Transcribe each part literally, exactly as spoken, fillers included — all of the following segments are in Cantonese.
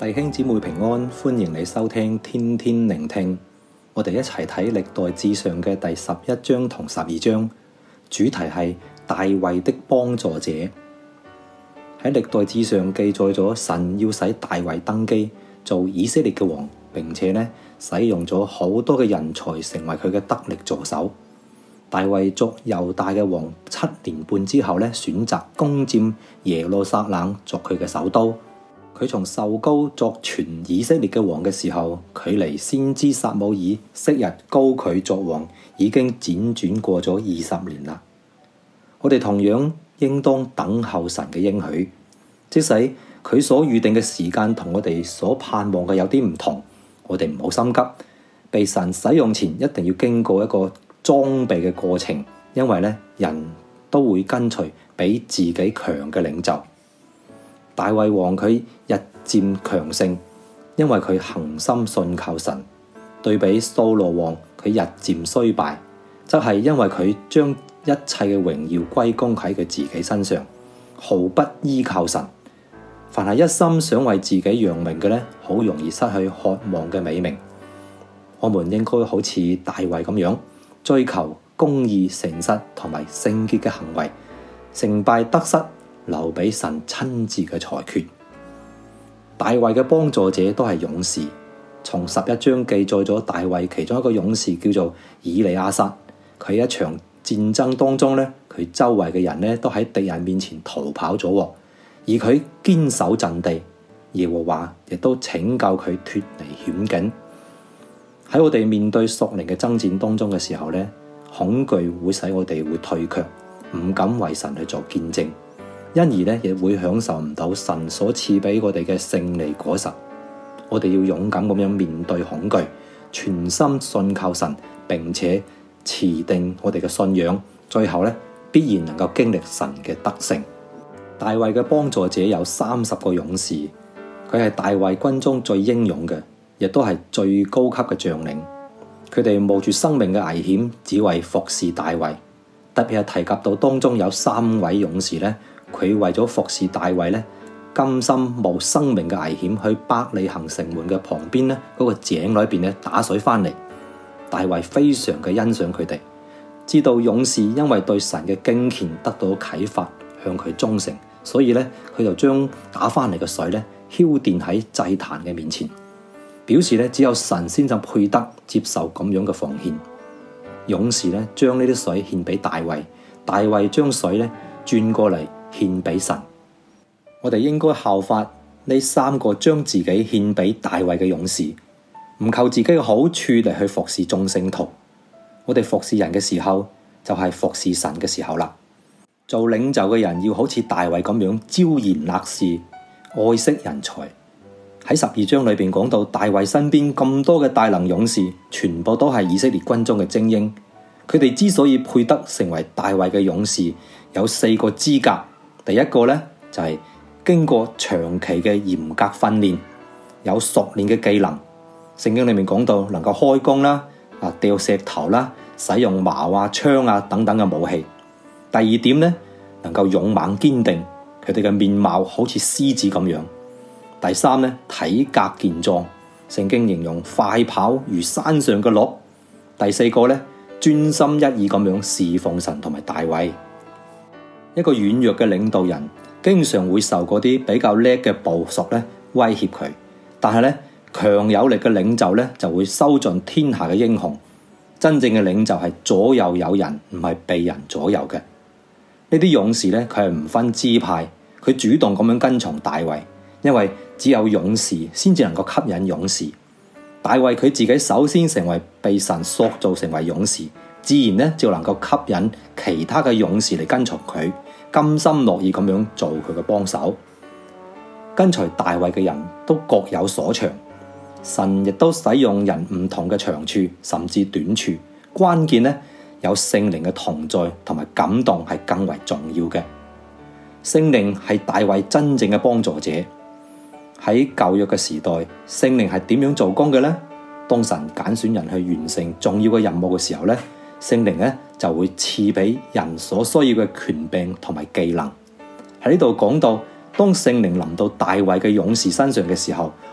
弟兄姊妹平安，歡迎你收聽天天聆聽。我哋一齊睇歷代志上嘅第十一章同十二章，主題係大衛的幫助者。喺歷代志上記載咗神要使大衛登基做以色列嘅王，並且呢使用咗好多嘅人才成為佢嘅得力助手。大衛作猶大嘅王七年半之後呢，選擇攻佔耶路撒冷作佢嘅首都。佢從受膏作全以色列嘅王嘅時候，距離先知撒母耳昔日膏佢作王已經輾轉過咗二十年啦。我哋同樣應當等候神嘅應許，即使佢所預定嘅時間同我哋所盼望嘅有啲唔同，我哋唔好心急。被神使用前一定要經過一個裝備嘅過程，因為咧人都會跟隨比自己強嘅領袖。大衛王佢日漸強盛，因為佢恆心信靠神。對比掃羅王佢日漸衰敗，則係因為佢將一切嘅榮耀歸功喺佢自己身上，毫不依靠神。凡係一心想為自己揚名嘅咧，好容易失去渴望嘅美名。我們應該好似大衛咁樣，追求公義、誠實同埋聖潔嘅行為，成敗得失留俾神親自嘅裁決。大衛嘅幫助者都係勇士，從十一章記載咗大衛其中一個勇士叫做以利亞撒。佢喺一場戰爭當中咧，佢周圍嘅人咧都喺敵人面前逃跑咗，而佢堅守陣地，耶和華亦都拯救佢脫離險境。喺我哋面對屬靈嘅爭戰當中嘅時候咧，恐懼會使我哋會退卻，唔敢為神去做見證。因而咧，亦會享受唔到神所賜俾我哋嘅勝利果實。我哋要勇敢咁樣面對恐懼，全心信靠神，並且持定我哋嘅信仰。最後咧，必然能夠經歷神嘅得勝。大衛嘅幫助者有三十個勇士，佢係大衛軍中最英勇嘅，亦都係最高級嘅將領。佢哋冒住生命嘅危險，只為服侍大衛。特別係提及到當中有三位勇士咧。佢為咗服侍大衛咧，甘心冒生命嘅危險去伯利恆城門嘅旁邊咧，嗰個井裏邊咧打水翻嚟。大衛非常嘅欣賞佢哋，知道勇士因為對神嘅敬虔得到啟發，向佢忠誠，所以咧佢就將打翻嚟嘅水咧澆奠喺祭壇嘅面前，表示咧只有神先至配得接受咁樣嘅奉獻。勇士咧將呢啲水獻俾大衛，大衛將水咧轉過嚟獻俾神。我哋應該效法呢三個將自己獻俾大衛嘅勇士，唔求自己嘅好處嚟去服侍眾聖徒。我哋服侍人嘅時候，就係服侍神嘅時候啦。做領袖嘅人要好似大衛咁樣招賢納士，愛惜人才。喺十二章裏邊講到，大衛身邊咁多嘅大能勇士，全部都係以色列軍中嘅精英。佢哋之所以配得成為大衛嘅勇士，有四個資格。第一個咧就係、是、經過長期嘅嚴格訓練，有熟練嘅技能。聖經裏面講到能夠開弓啦、啊掉石頭啦、使用矛啊、槍啊等等嘅武器。第二點咧，能夠勇猛堅定，佢哋嘅面貌好似獅子咁樣。第三咧，體格健壯，聖經形容快跑如山上嘅鹿。第四個咧，專心一意咁樣侍奉神同埋大衛。一個軟弱嘅領導人，經常會受嗰啲比較叻嘅部屬咧威脅佢，但係咧強有力嘅領袖咧就會收盡天下嘅英雄。真正嘅領袖係左右有人，唔係被人左右嘅。呢啲勇士咧，佢係唔分支派，佢主動咁樣跟從大衛，因為只有勇士先至能夠吸引勇士。大衛佢自己首先成為被神塑造成為勇士，自然咧就能夠吸引其他嘅勇士嚟跟從佢，甘心樂意咁樣做佢嘅幫手。跟隨大衛嘅人都各有所長，神亦都使用人唔同嘅長處甚至短處，關鍵咧有聖靈嘅同在同埋感動係更為重要嘅。聖靈係大衛真正嘅幫助者。喺舊約嘅時代，聖靈係點樣做工嘅呢？當神揀選人去完成重要嘅任務嘅時候咧，聖靈咧就會賜俾人所需要嘅權柄同埋技能。喺呢度講到，當聖靈臨到大衛嘅勇士身上嘅時候，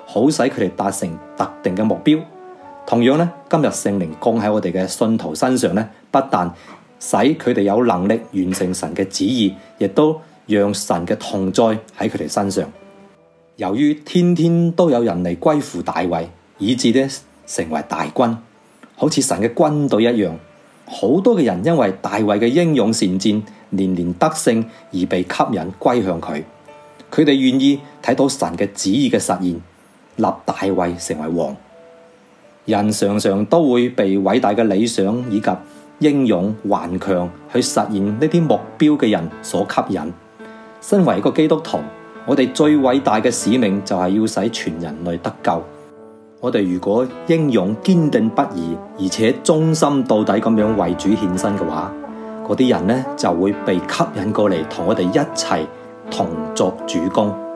好使佢哋達成特定嘅目標。同樣咧，今日聖靈降喺我哋嘅信徒身上咧，不但使佢哋有能力完成神嘅旨意，亦都讓神嘅同在喺佢哋身上。由於天天都有人嚟歸附大衛，以致咧成為大軍，好似神嘅軍隊一樣。好多嘅人因為大衛嘅英勇善戰、連連得勝而被吸引歸向佢。佢哋願意睇到神嘅旨意嘅實現，立大衛成為王。人常常都會被偉大嘅理想以及英勇頑強去實現呢啲目標嘅人所吸引。身為一個基督徒，我哋最偉大嘅使命就係要使全人類得救。我哋如果英勇堅定不移，而且忠心到底咁樣為主獻身嘅話，嗰啲人呢就會被吸引過嚟，同我哋一齊同作主工。